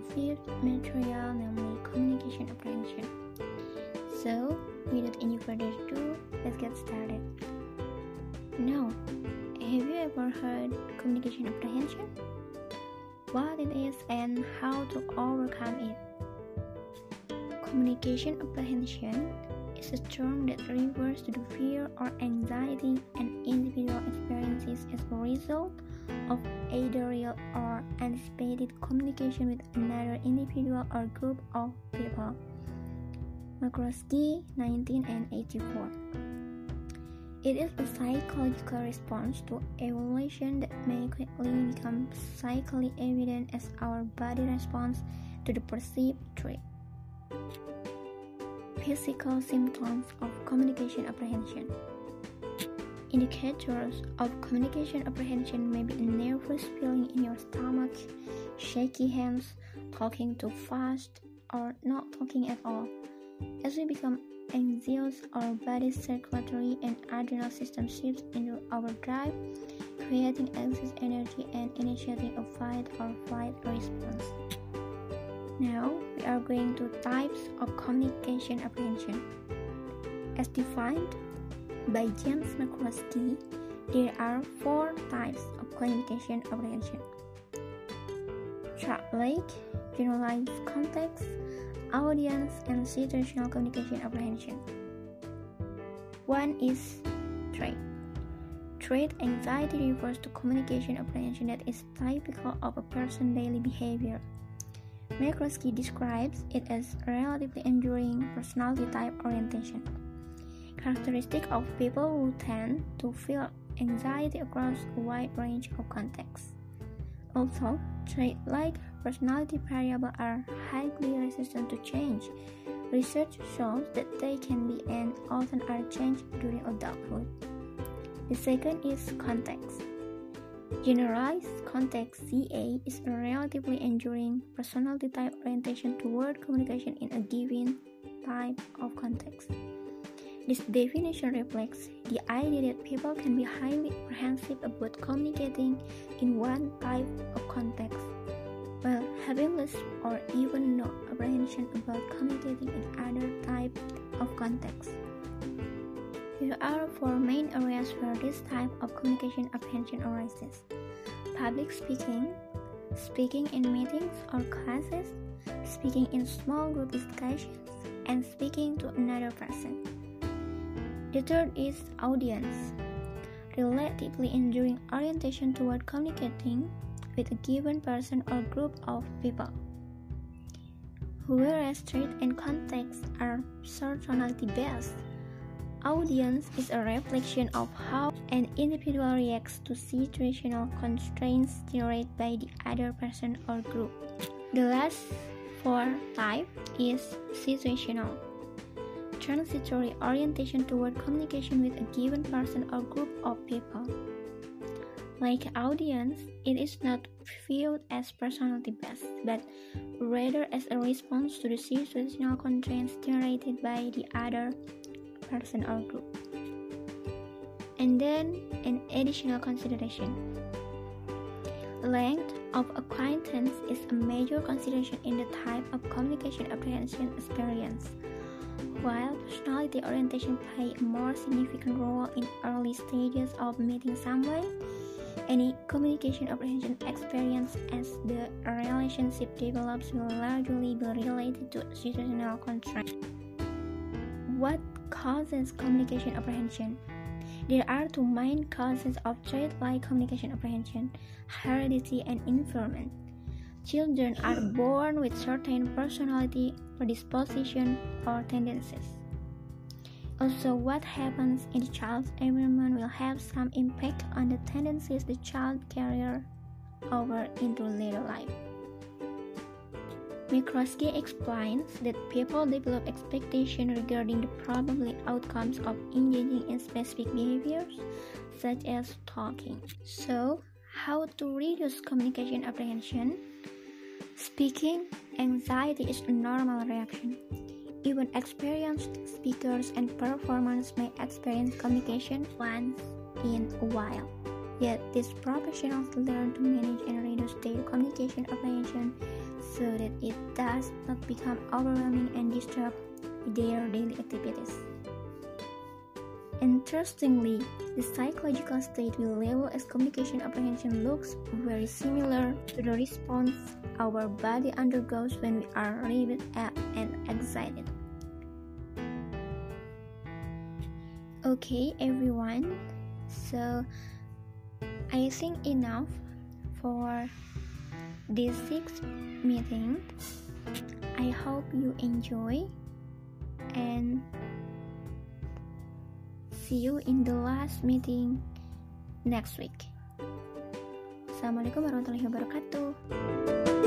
fifth material, namely communication apprehension. So, without any further ado, let's get started. Now, have you ever heard communication apprehension? What it is and how to overcome it? Communication apprehension is a term that refers to the fear or anxiety an individual experiences as a result of either real or anticipated communication with another individual or group of people. McCloskey, 1984. It is a psychological response to evolution that may quickly become psychically evident as our body responds to the perceived threat. Physical symptoms of communication apprehension. Indicators of communication apprehension may be a nervous feeling in your stomach, shaky hands, talking too fast, or not talking at all. As we become anxious, our body's circulatory and adrenal system shifts into overdrive, creating excess energy and initiating a fight or flight response. Now, we are going to types of communication apprehension. As defined by James McCloskey, there are 4 types of communication apprehension. Childlike, generalized context, audience, and situational communication apprehension. 1 is trait. Trait anxiety refers to communication apprehension that is typical of a person's daily behavior. McCloskey describes it as relatively enduring personality type orientation, characteristic of people who tend to feel anxiety across a wide range of contexts. Also, trait-like personality variables are highly resistant to change. Research shows that they can be and often are changed during adulthood. The second is context. Generalized context (CA) is a relatively enduring personality type orientation toward communication in a given type of context. This definition reflects the idea that people can be highly apprehensive about communicating in one type of context, while having less or even no apprehension about communicating in other type of contexts. There are 4 main areas where this type of communication apprehension arises: public speaking, speaking in meetings or classes, speaking in small group discussions, and speaking to another person. The third is audience, relatively enduring orientation toward communicating with a given person or group of people. Whereas trait and context are personality-based, audience is a reflection of how an individual reacts to situational constraints generated by the other person or group. The last 4 type is situational. Transitory orientation toward communication with a given person or group of people. Like audience, it is not viewed as personality-based, but rather as a response to the situational constraints generated by the other person or group. And then an additional consideration. Length of acquaintance is a major consideration in the type of communication apprehension experience. While personality orientation play a more significant role in early stages of meeting someone, any communication apprehension experience as the relationship develops will largely be related to situational constraints. What causes communication apprehension? There are 2 main causes of trait-like communication apprehension: heredity and environment. Children are born with certain personality predisposition or tendencies. Also, what happens in the child's environment will have some impact on the tendencies the child carries over into later life. McCloskey explains that people develop expectations regarding the probable outcomes of engaging in specific behaviors, such as talking. So, how to reduce communication apprehension? Speaking anxiety is a normal reaction. Even experienced speakers and performers may experience communication once in a while. Yet, these professionals learn to manage and reduce their communication apprehension so that it does not become overwhelming and disrupt their daily activities. Interestingly, the psychological state we label as communication apprehension looks very similar to the response our body undergoes when we are relieved and excited. Okay, everyone, so I think enough for this 6th meeting. I hope you enjoy and see you in the last meeting next week. Assalamualaikum warahmatullahi wabarakatuh.